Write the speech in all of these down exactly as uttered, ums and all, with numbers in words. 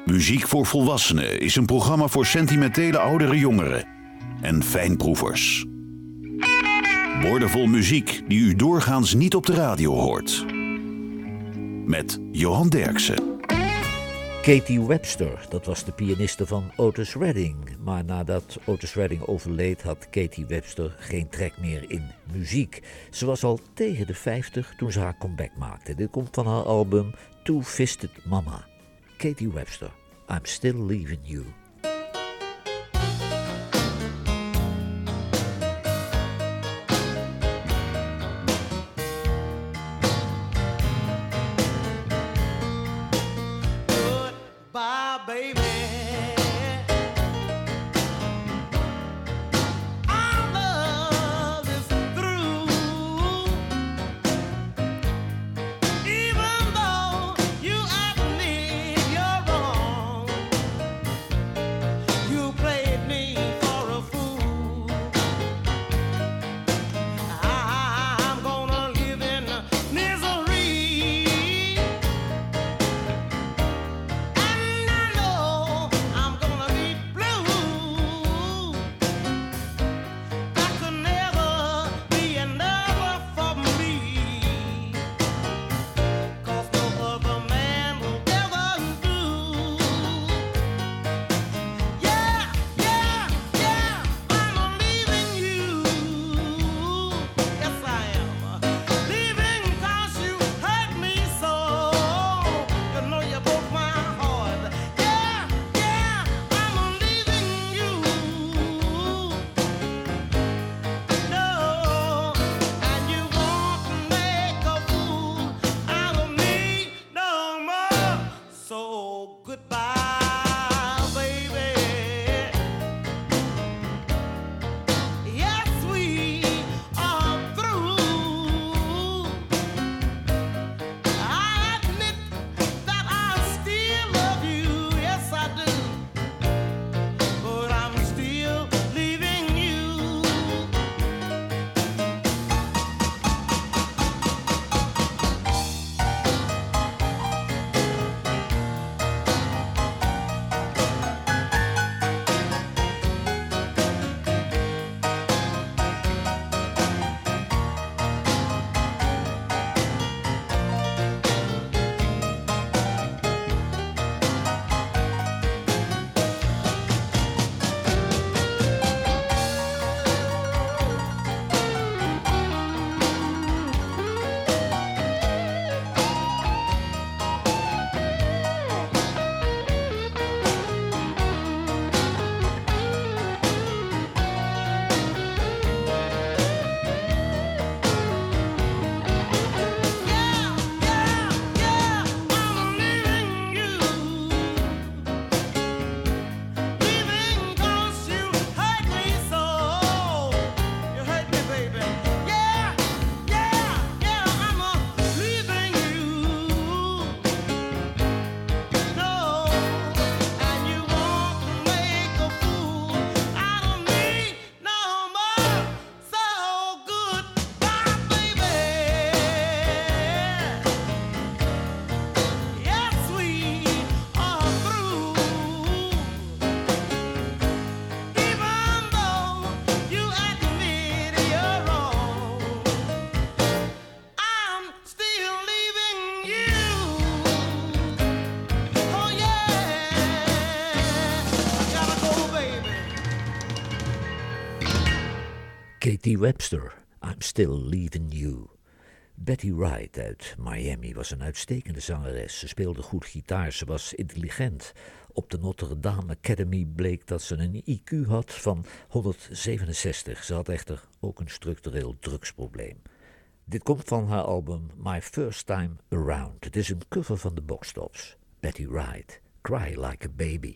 Muziek voor Volwassenen is een programma voor sentimentele oudere jongeren en fijnproevers. Woordenvol muziek die u doorgaans niet op de radio hoort. Met Johan Derksen. Katie Webster, dat was de pianiste van Otis Redding. Maar nadat Otis Redding overleed had Katie Webster geen trek meer in muziek. Ze was al tegen de vijftig toen ze haar comeback maakte. Dit komt van haar album Two-Fisted Mama. Katie Webster, I'm Still Leaving You. Katie Webster, I'm Still Leaving You. Betty Wright uit Miami was een uitstekende zangeres. Ze speelde goed gitaar, ze was intelligent. Op de Notre Dame Academy bleek dat ze een I Q had van honderdzevenenzestig. Ze had echter ook een structureel drugsprobleem. Dit komt van haar album My First Time Around. Het is een cover van de Box Tops. Betty Wright, Cry Like a Baby.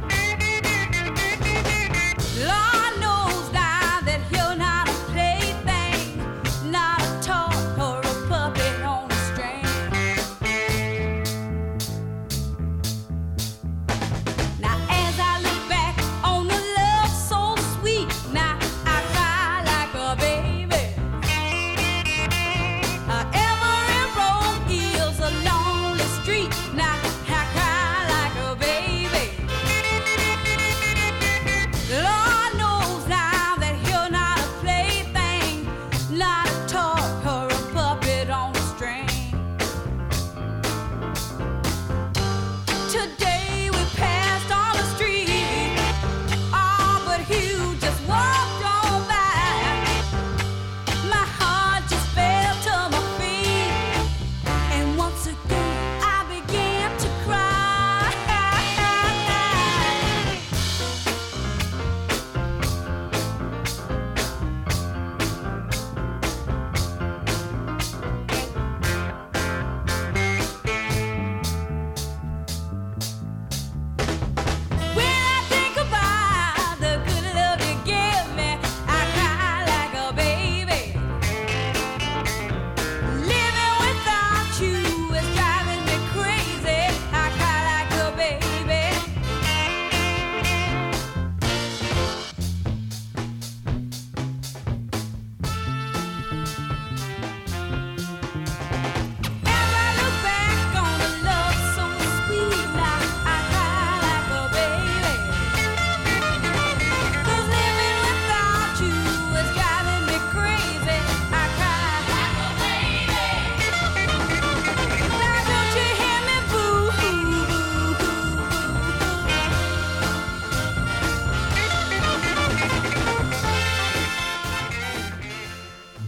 Lord knows now that you're not a plaything.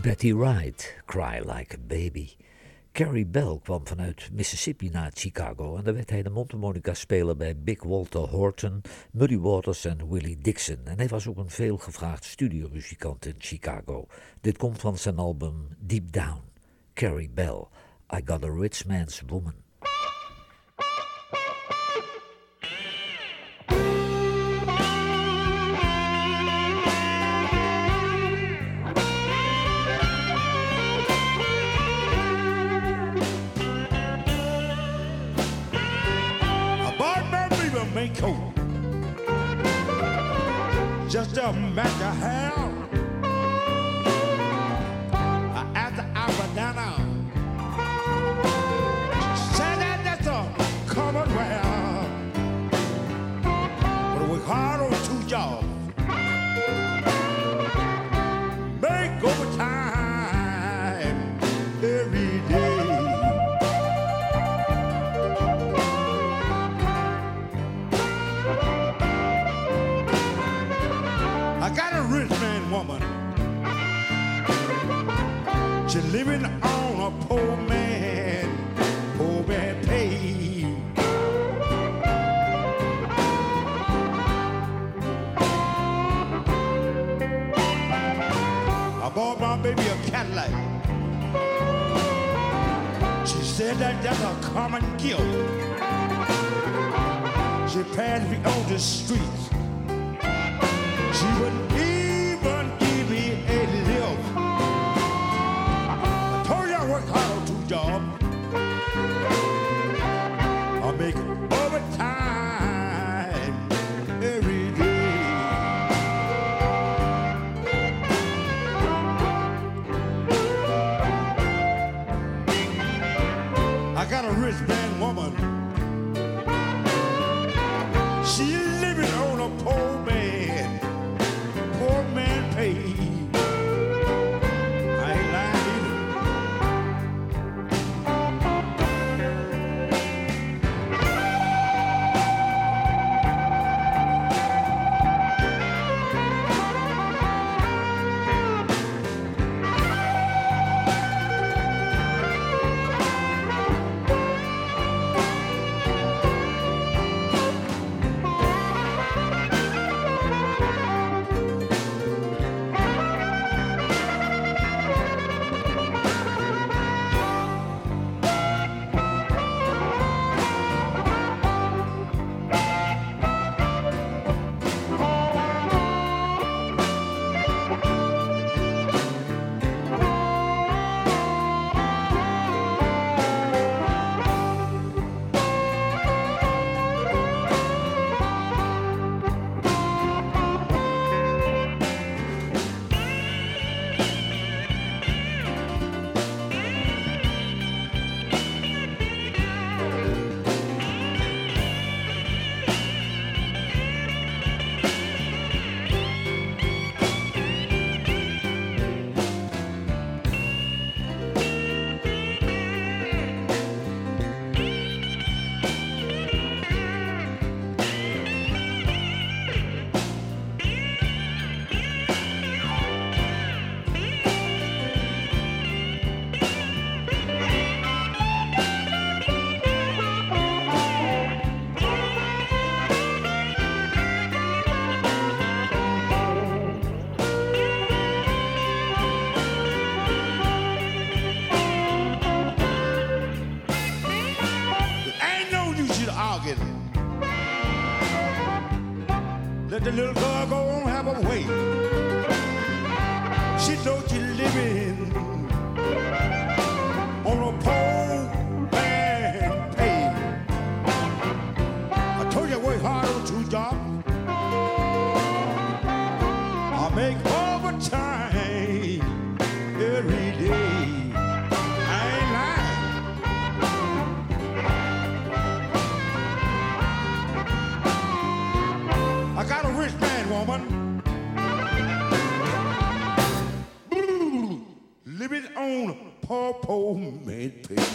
Betty Wright, Cry Like a Baby. Carrie Bell kwam vanuit Mississippi naar Chicago en daar werd hij de mondharmonica-speler bij Big Walter Horton, Muddy Waters en Willie Dixon. En hij was ook een veelgevraagd studiomuzikant in Chicago. Dit komt van zijn album Deep Down. Carrie Bell, I Got a Rich Man's Woman. Coat, just a matter how after I went down, said that that's a common well, but we hard on two jobs, make overtime every day. Woman, she living on a poor man, poor man pay. I bought my baby a Cadillac. She said that that's a common gift. She passed me on the streets. She wouldn't I make overtime every day. I got a rich man woman. She living on a poor man, poor man pay. Let the little girl go on, have a way. She knows she's living on a poor man pay. I told you I work hard on two jobs. I make overtime every day. I ain't lying. I got a rich man, woman. Living on a poor, poor man pay.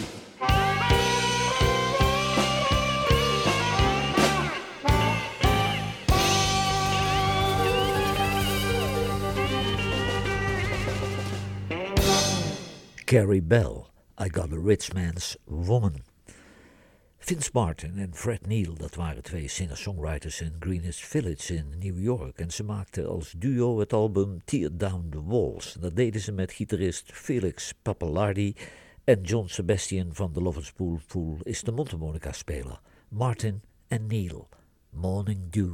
Carrie Bell, I Got a Rich Man's Woman. Vince Martin en Fred Neil, dat waren twee singer-songwriters in Greenwich Village in New York. En ze maakten als duo het album Tear Down the Walls. En dat deden ze met gitarist Felix Pappalardi en John Sebastian van de Lovers Pool is de mondharmonica-speler. Martin en Neil, Morning Dew.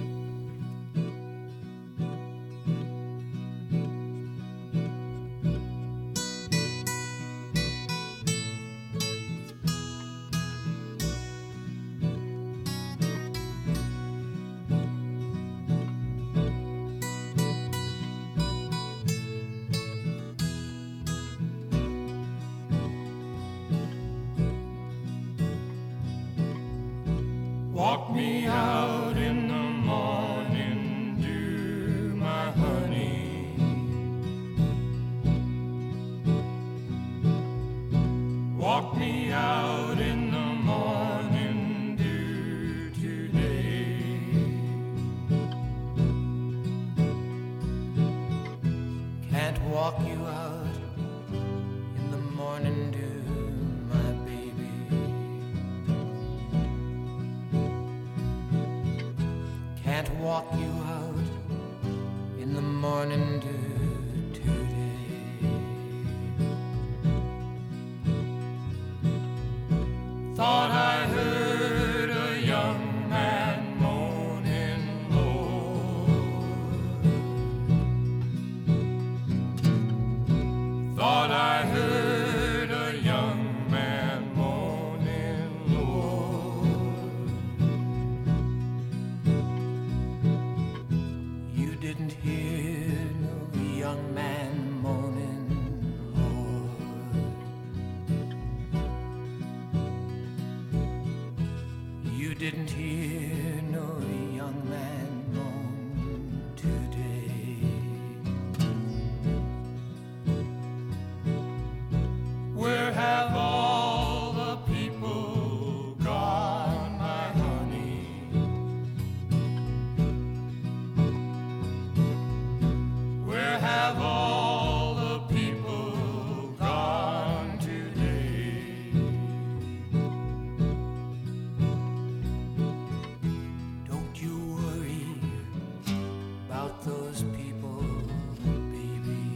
Walk me out in the morning dew, my honey. Walk me out in the morning dew today. Can't walk you out in the morning dew. Can't walk you out in the morning dew today. Thought I heard a young man moaning low. Thought I heard a young man moaning low. Didn't hear no young man moaning, Lord. You didn't hear no young man moan today. Where have all the people gone, my honey? Where have all the people gone today? Don't you worry about those people, baby.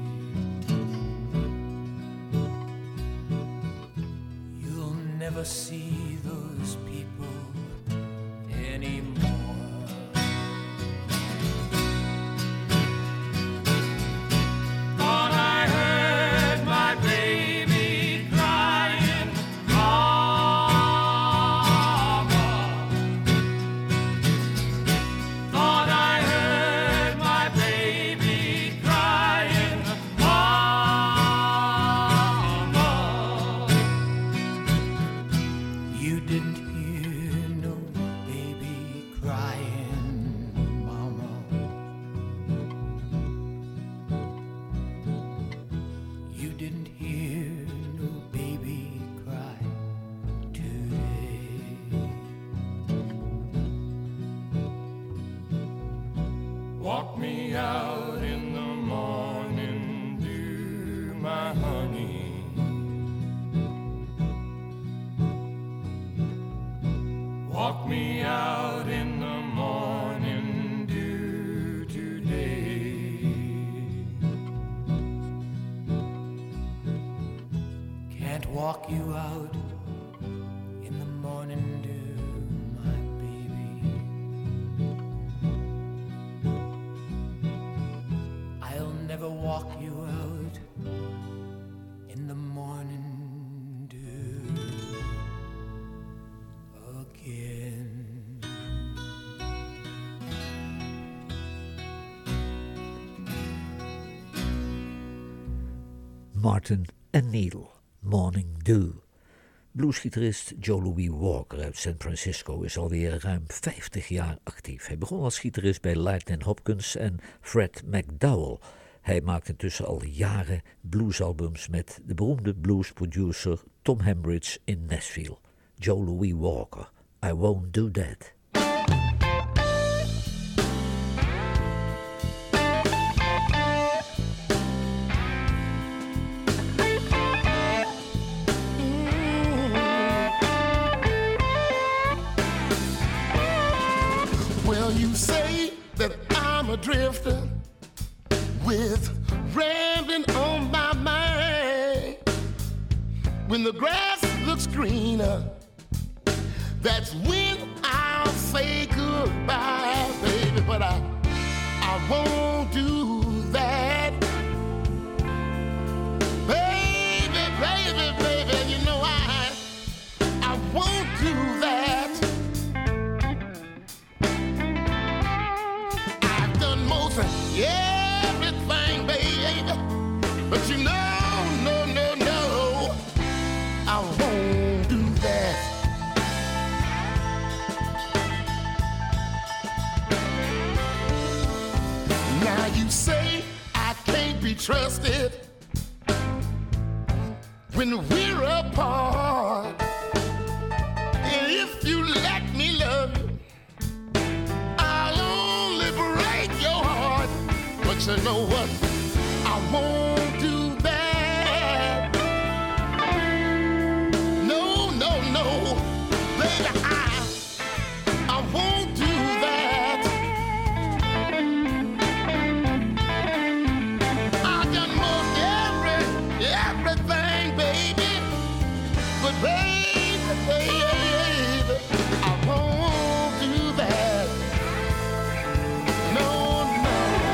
You'll never see those people anymore. Walk me out in the morning dew, my honey. Walk me out in the morning dew today. Can't walk you out in the morning dew. Never walk you out in the morning dew again. Martin en Neil, Morning Dew. Bluesgitarist Joe Louis Walker uit San Francisco is alweer ruim vijftig jaar actief. Hij begon als gitarist bij Lightnin' Hopkins en Fred McDowell. Hij maakt intussen al jaren bluesalbums met de beroemde bluesproducer Tom Hembridge in Nashville. Joe Louis Walker, I Won't Do That. Thank you. with rambling on my mind. When the grass looks greener, that's when I'll say goodbye, baby. But I, I won't do that. Baby, baby, baby, you know I, I won't do that. I've done most everything, baby, but you know, no, no, no, I won't do that. Now you say I can't be trusted when we're apart. And if you let me love you, I'll only break your heart. But you know what? I won't do that. No, no, no, baby, I, I won't do that. I've done most every, everything, baby, but baby, baby, I won't do that. No, no.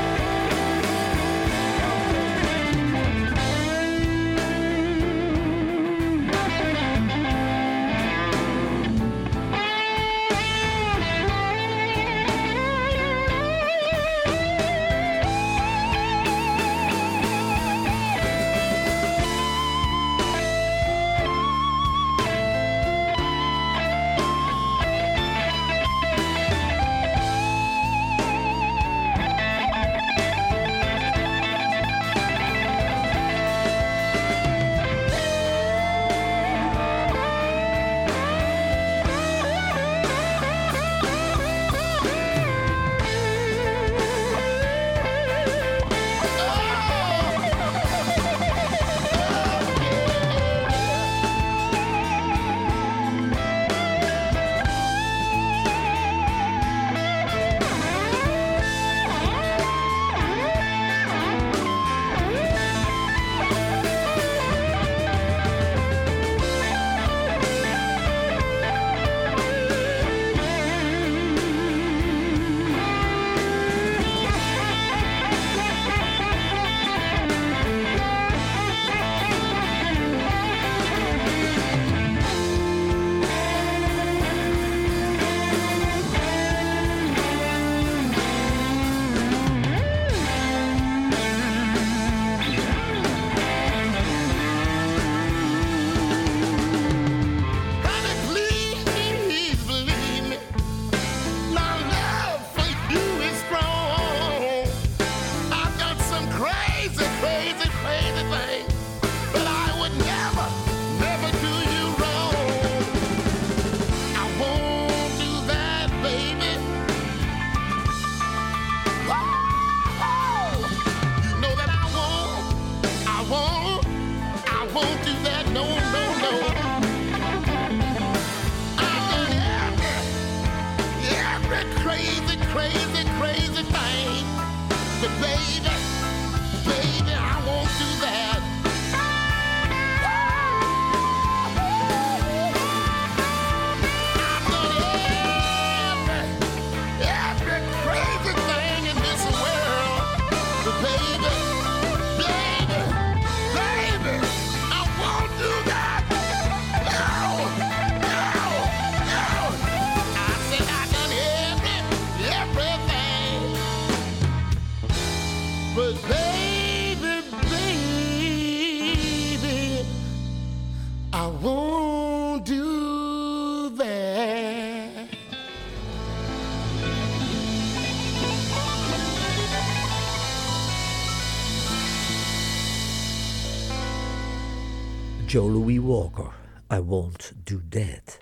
Joe Louis Walker, I Won't Do That.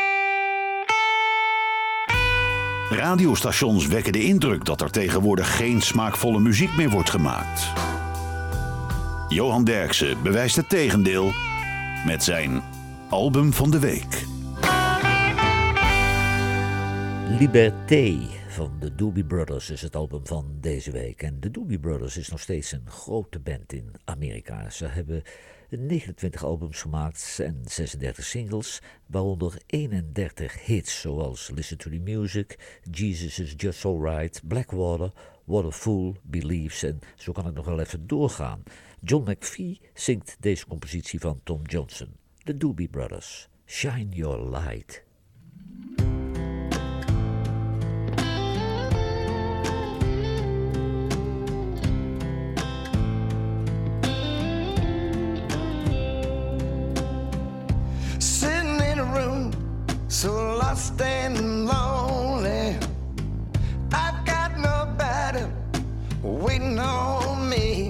Radiostations wekken de indruk dat er tegenwoordig geen smaakvolle muziek meer wordt gemaakt. Johan Derksen bewijst het tegendeel met zijn album van de week. Liberté van de Doobie Brothers is het album van deze week. En de Doobie Brothers is nog steeds een grote band in Amerika. Ze hebben negenentwintig albums gemaakt en zesendertig singles, waaronder eenendertig hits zoals Listen to the Music, Jesus is Just Alright, Blackwater, What a Fool Believes en zo kan ik nog wel even doorgaan. John McVie zingt deze compositie van Tom Johnson. De Doobie Brothers, Shine Your Light. So lost and lonely, I've got nobody waiting on me.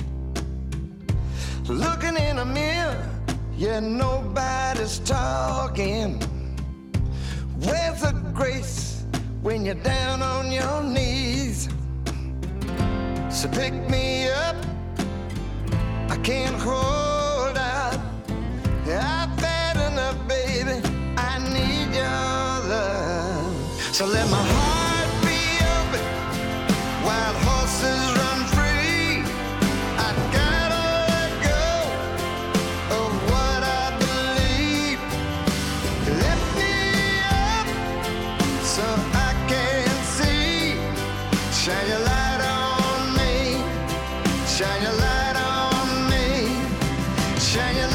Looking in a mirror, yeah, nobody's talking. Where's the grace when you're down on your knees? So pick me up, I can't hold out. I've had enough, baby, I need your love. So let my heart be open, wild horses run free. I gotta let go of what I believe. Lift me up so I can see. Shine your light on me, shine your light on me, shine your light.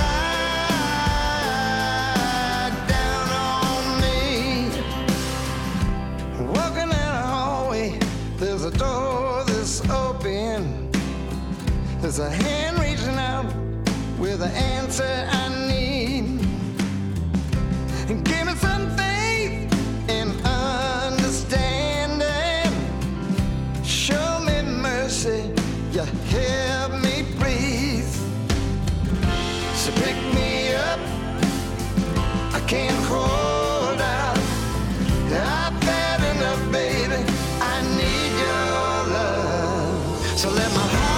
There's a hand reaching out with the answer I need. And give me some faith and understanding. Show me mercy, you help me breathe. So pick me up, I can't hold out. I've had enough, baby, I need your love. So let my heart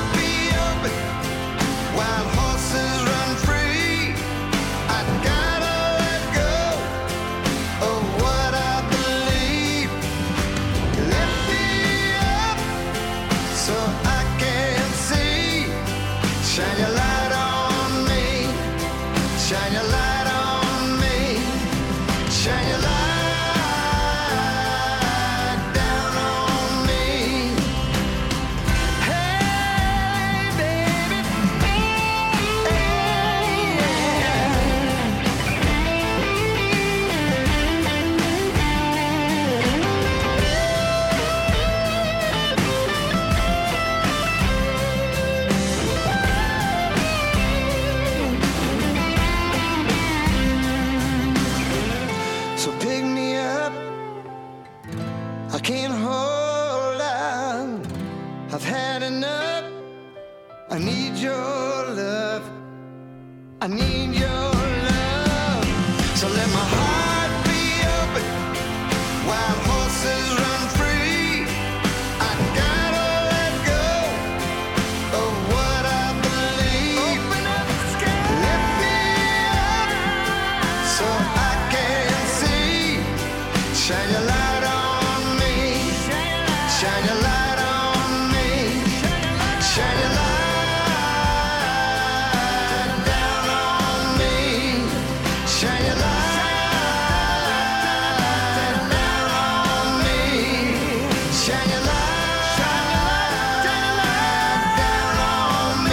wild horses run free. I gotta let go of what I believe. Lift me up so I can see. Shine your light on me, shine your light on me, shine your light down on me. Hey, baby. I can't hold on, I've had enough. I need your love, I need your love. So let my heart be open, wild horses run free. I gotta let go of what I believe. Open up the sky, lift me up so I can see. Shine your light on. Shine your light on me, shine your light down on me, shine your light down on me, shine your light down on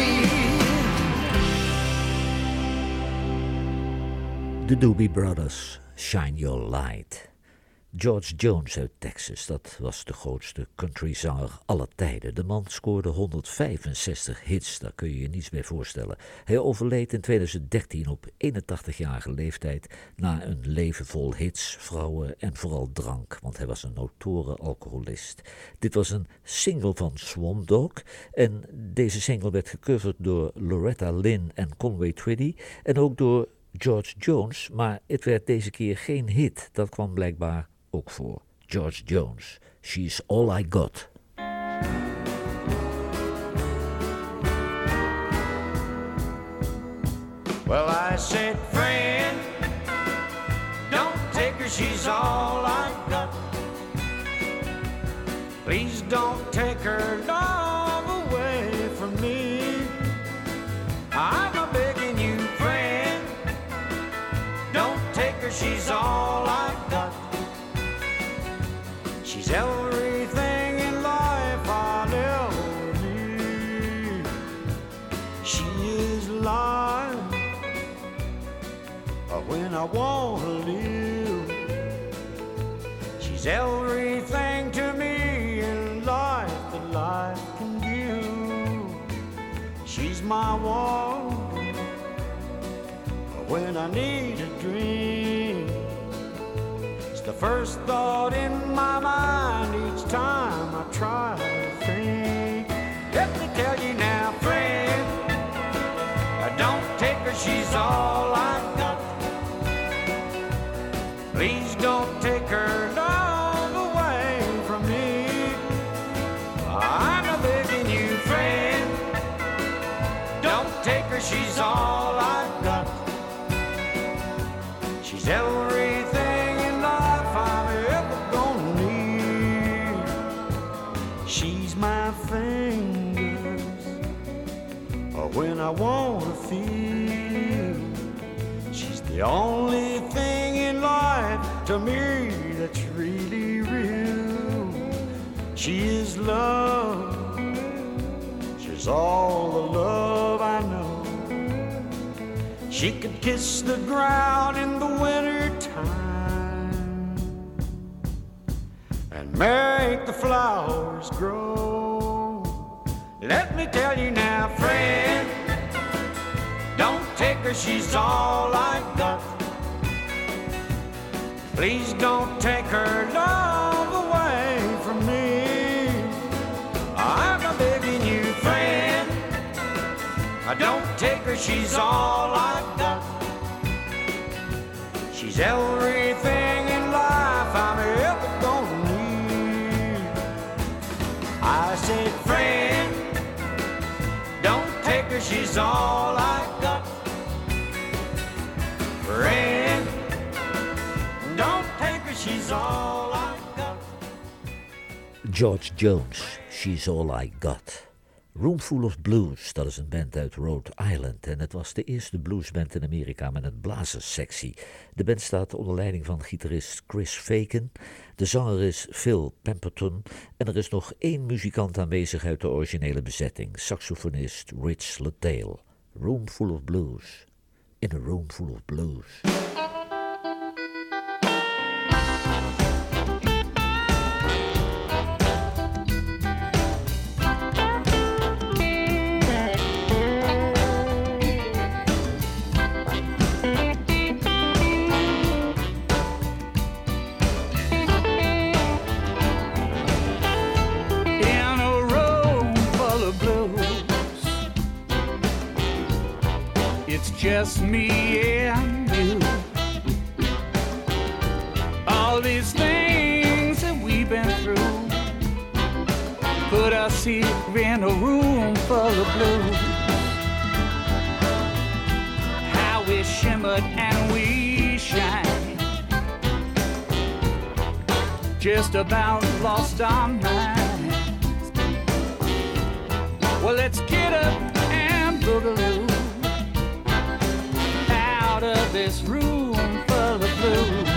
me. The Doobie Brothers, Shine Your Light. George Jones uit Texas, dat was de grootste countryzanger aller tijden. De man scoorde honderdvijfenzestig hits, daar kun je je niets bij voorstellen. Hij overleed in tweeduizend dertien op eenentachtigjarige leeftijd na een leven vol hits, vrouwen en vooral drank, want hij was een notoire alcoholist. Dit was een single van Swamp Dogg en deze single werd gecoverd door Loretta Lynn en Conway Twitty en ook door George Jones, maar het werd deze keer geen hit. Dat kwam blijkbaar ook voor. George Jones, She's All I Got. Well, I said, friend, don't take her, she's all I've got. don't take her love away from me. I'm a begging you, friend, don't take her, she's all I've got. She's everything in life I'll ever need. She is life when I want to live. She's everything to me in life that life can give. She's my one when I need a dream. It's the first thought in my mind each time I try to think. Let me tell you now, friend, don't take her, she's all I've got. Please don't take her love away from me. I'm a begging you, friend, don't take her, she's all I've got. She's everything in life I'm ever gonna need. She's my fingers when I wanna feel. She's the only thing in life to me that's really real. She is love, she's all the love I know. She could kiss the ground in the winter time and make the flowers grow. Let me tell you now, friend, don't take her, she's all I've got. Please don't take her love away from me. I'm a begging you, friend, don't take her, she's all I've got. She's everything in life I'm ever gonna need. I said, friend, don't take her, she's all I've got. Friend, don't take her, she's all I've got. George Jones, She's All I Got. Roomful of Blues, dat is een band uit Rhode Island en het was de eerste bluesband in Amerika met een blazerssectie. De band staat onder leiding van gitarist Chris Fagan, de zanger is Phil Pemberton en er is nog één muzikant aanwezig uit de originele bezetting, saxofonist Rich Liddell. Roomful of Blues, in a room full of blues. Just me and you. All these things that we've been through put us here in a room full of blues. How we shimmered and we shine, just about lost our minds. Well, let's get up and boogaloo out of this room full of blues.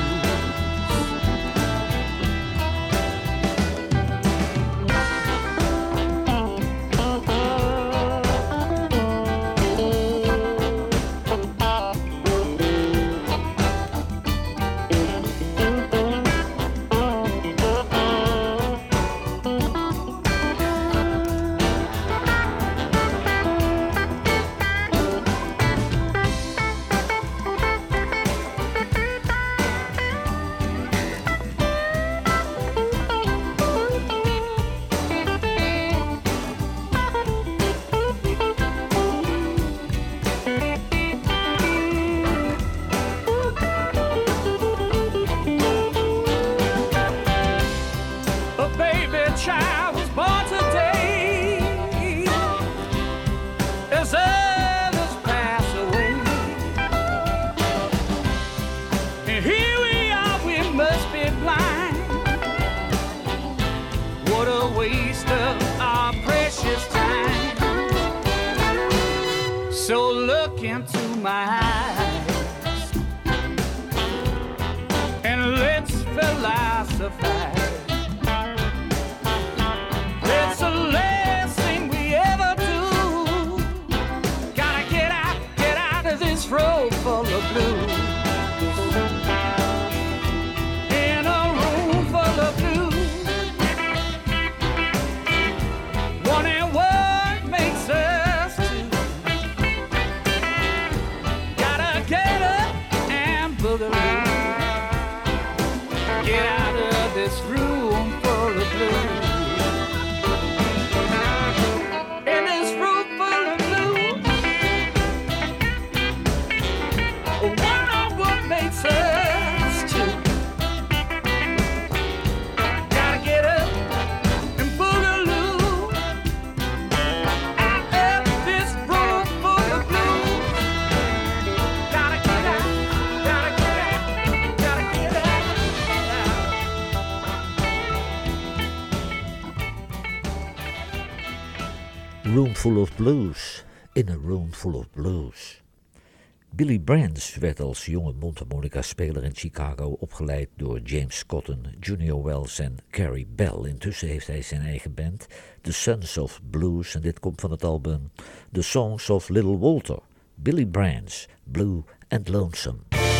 Room Full of Blues, In a Room Full of Blues. Billy Branch werd als jonge mondharmonica-speler in Chicago opgeleid door James Cotton, Junior Wells en Carrie Bell. Intussen heeft hij zijn eigen band, The Sons of Blues, en dit komt van het album The Songs of Little Walter. Billy Branch, Blue and Lonesome.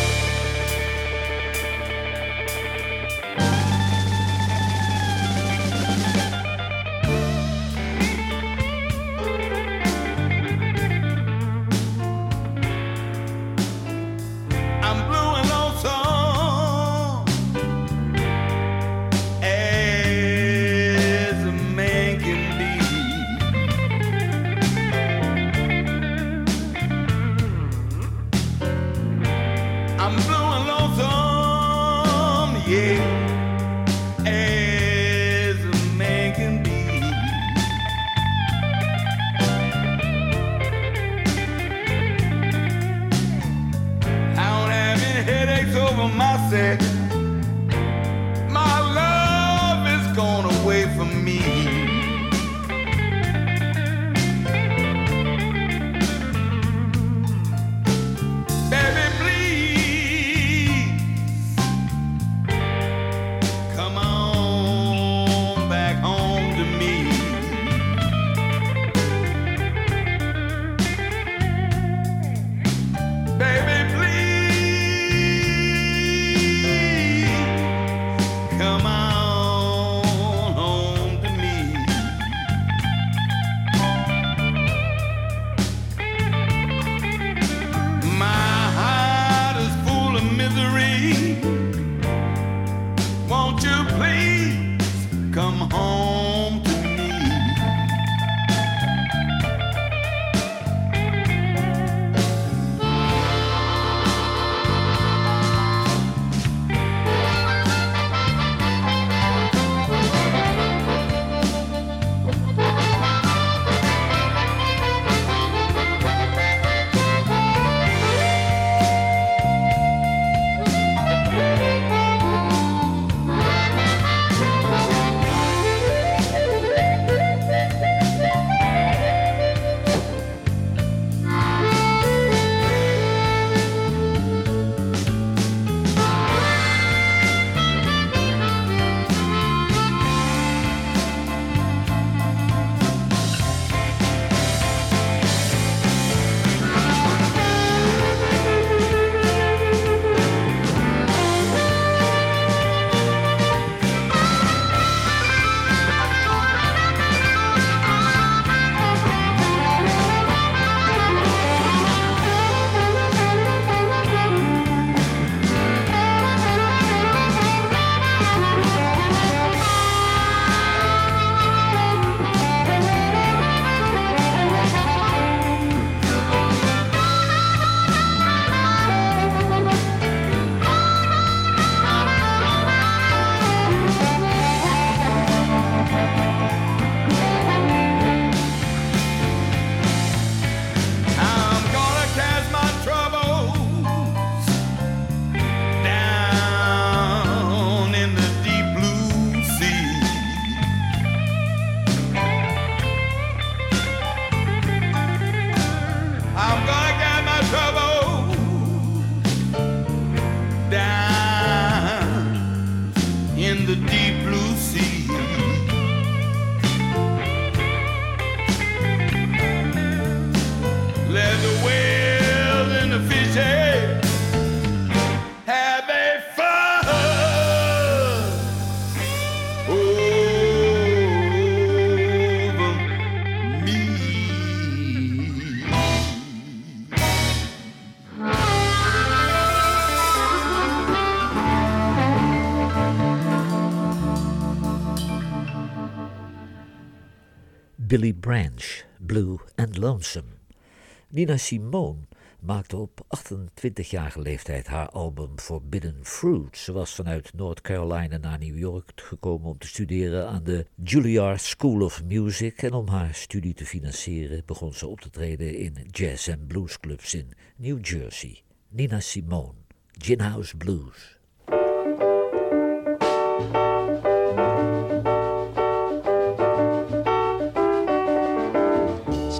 Billy Branch, Blue and Lonesome. Nina Simone maakte op achtentwintigjarige leeftijd haar album Forbidden Fruit. Ze was vanuit North Carolina naar New York gekomen om te studeren aan de Juilliard School of Music. En om haar studie te financieren begon ze op te treden in jazz- en bluesclubs in New Jersey. Nina Simone, Gin House Blues.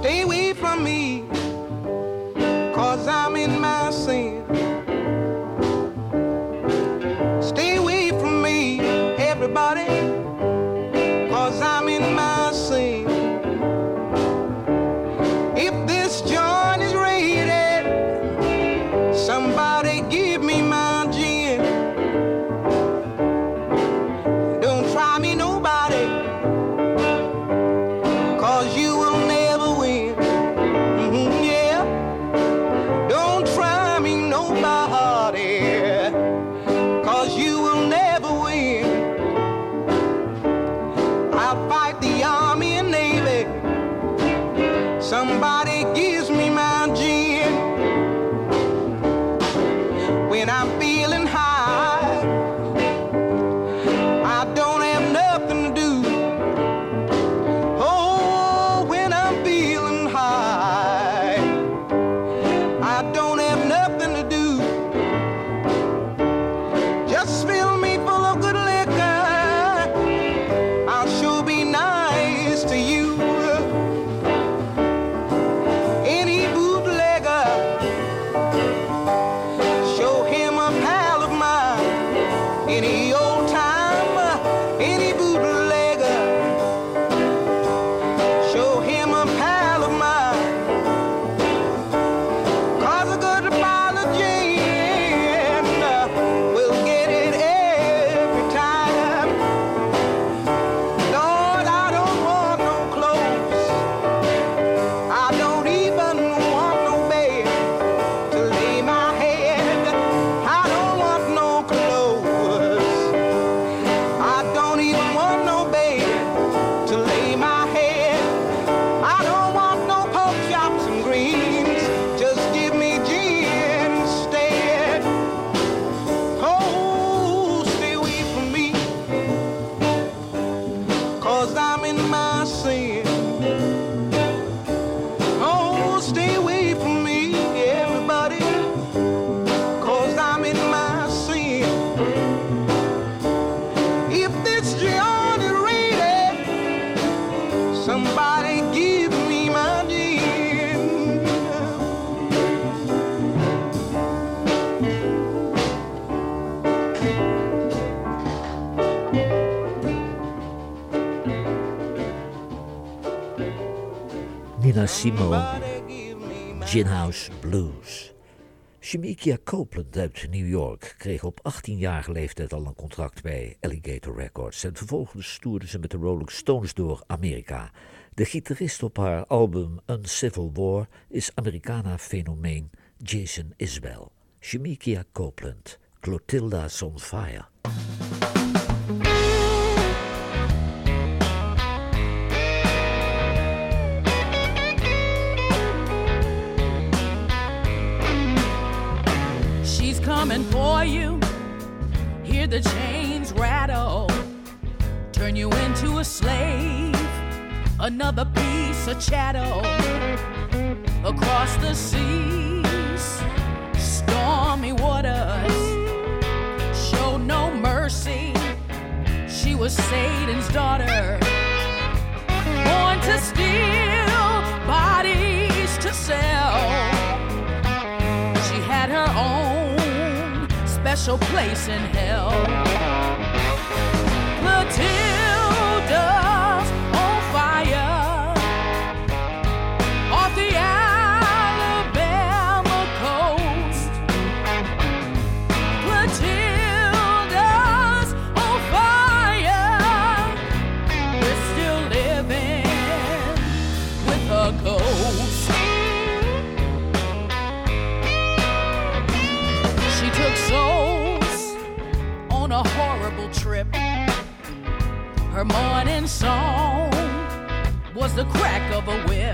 stay away from me, 'cause I'm in my sin. Stay away from me, everybody, 'cause I'm in my sin. If this joint is rated, somebody give me my gin. Don't try me, nobody, 'cause you will never win. Mm-hmm, yeah. Don't try me, nobody, 'cause you will never win. I'll fight the Army and Navy. Somebody gives me my gin. When I'm feeling high, I don't have nothing to do. Oh, when I'm feeling high, I don't have nothing to do. Just fill me full of good liquor, I'll sure be nice to you. Any bootlegger, show him a pal of mine. Any old time, any bootlegger, show him a pal of mine. 'Cause a good bottle of gin will get it every time. Lord, I don't want no clothes, I don't even want no bed to lay my head. I don't want no clothes, I don't even want no bed to lay my head. I don't want no pork chops and greens, just give me gin instead. Oh, stay away from me, 'cause I'm in my sin. Oh, stay away from me, everybody, 'cause I'm in my sin. If this joint is rated, somebody give me my gin. Nina Simone, Gin House Blues. Shemekia Copeland uit New York kreeg op achttienjarige leeftijd al een contract bij Alligator Records en vervolgens toerde ze met de Rolling Stones door Amerika. De gitarist op haar album Uncivil War is Americana-fenomeen Jason Isbell. Shemekia Copeland, Clotilda's on Fire. She's coming for you. Hear the chains rattle. Turn you into a slave. Another piece of chattel. Across the seas, stormy waters. Show no mercy. She was Satan's daughter. Born to steal, bodies to sell. She had her own special place in hell. Matilda's on fire off the Alabama coast. Matilda's on fire. We're still living with her ghost. She took souls on a horrible trip. Her morning song was the crack of a whip.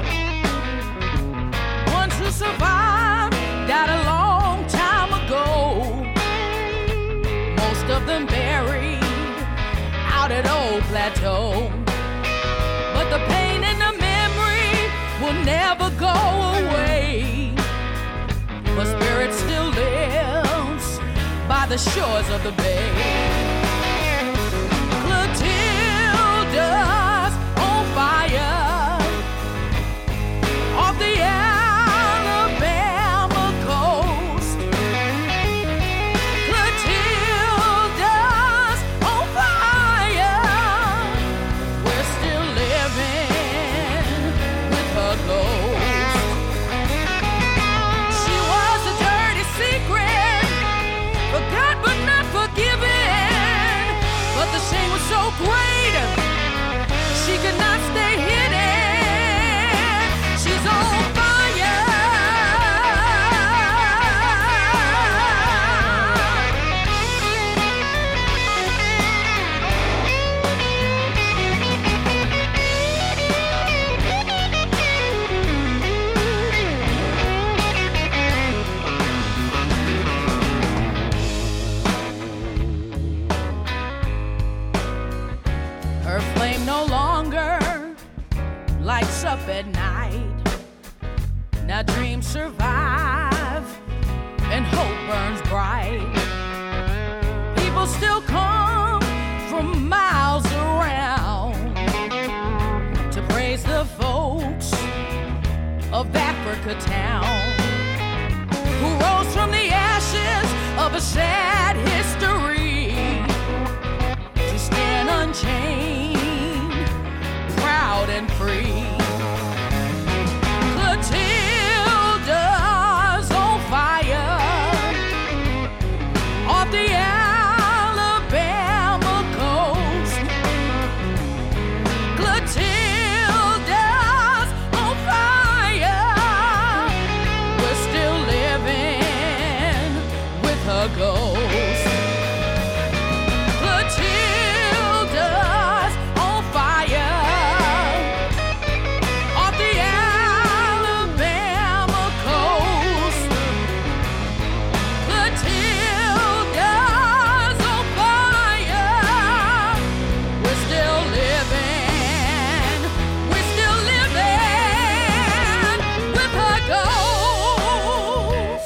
Ones who survived died a long time ago. Most of them buried out at Old Plateau. But the pain and the memory will never go away. Her spirit still lives by the shores of the bay. Clotilda's on fire night. Now dreams survive and hope burns bright. People still come from miles around to praise the folks of Africa town who rose from the ashes of a sad history to stand unchained, proud and free. Clotilda's on fire off the Alabama coast. Clotilda's on fire. We're still living with her ghost. Clotilda's on fire off the Alabama coast. Clotilda's on fire. We're still living. We're still living with her ghost.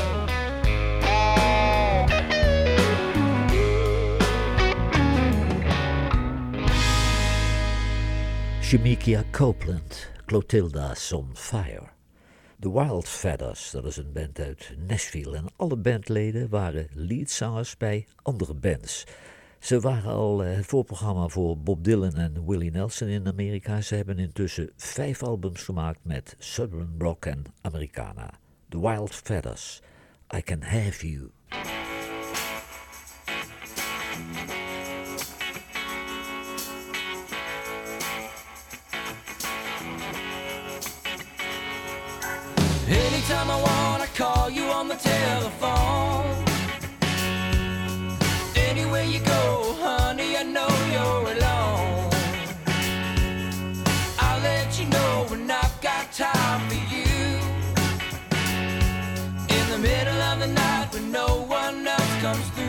Shemekia Copeland, Clotilda's on Fire. The Wild Feathers, dat is een band uit Nashville. En alle bandleden waren leadzangers bij andere bands. Ze waren al het voorprogramma voor Bob Dylan en Willie Nelson in Amerika. Ze hebben intussen vijf albums gemaakt met Southern Rock en Americana. The Wild Feathers, I Can Have You. Anytime I wanna call you on the telephone. Anywhere you go, honey, I know you're alone. I'll let you know when I've got time for you. In the middle of the night when no one else comes through.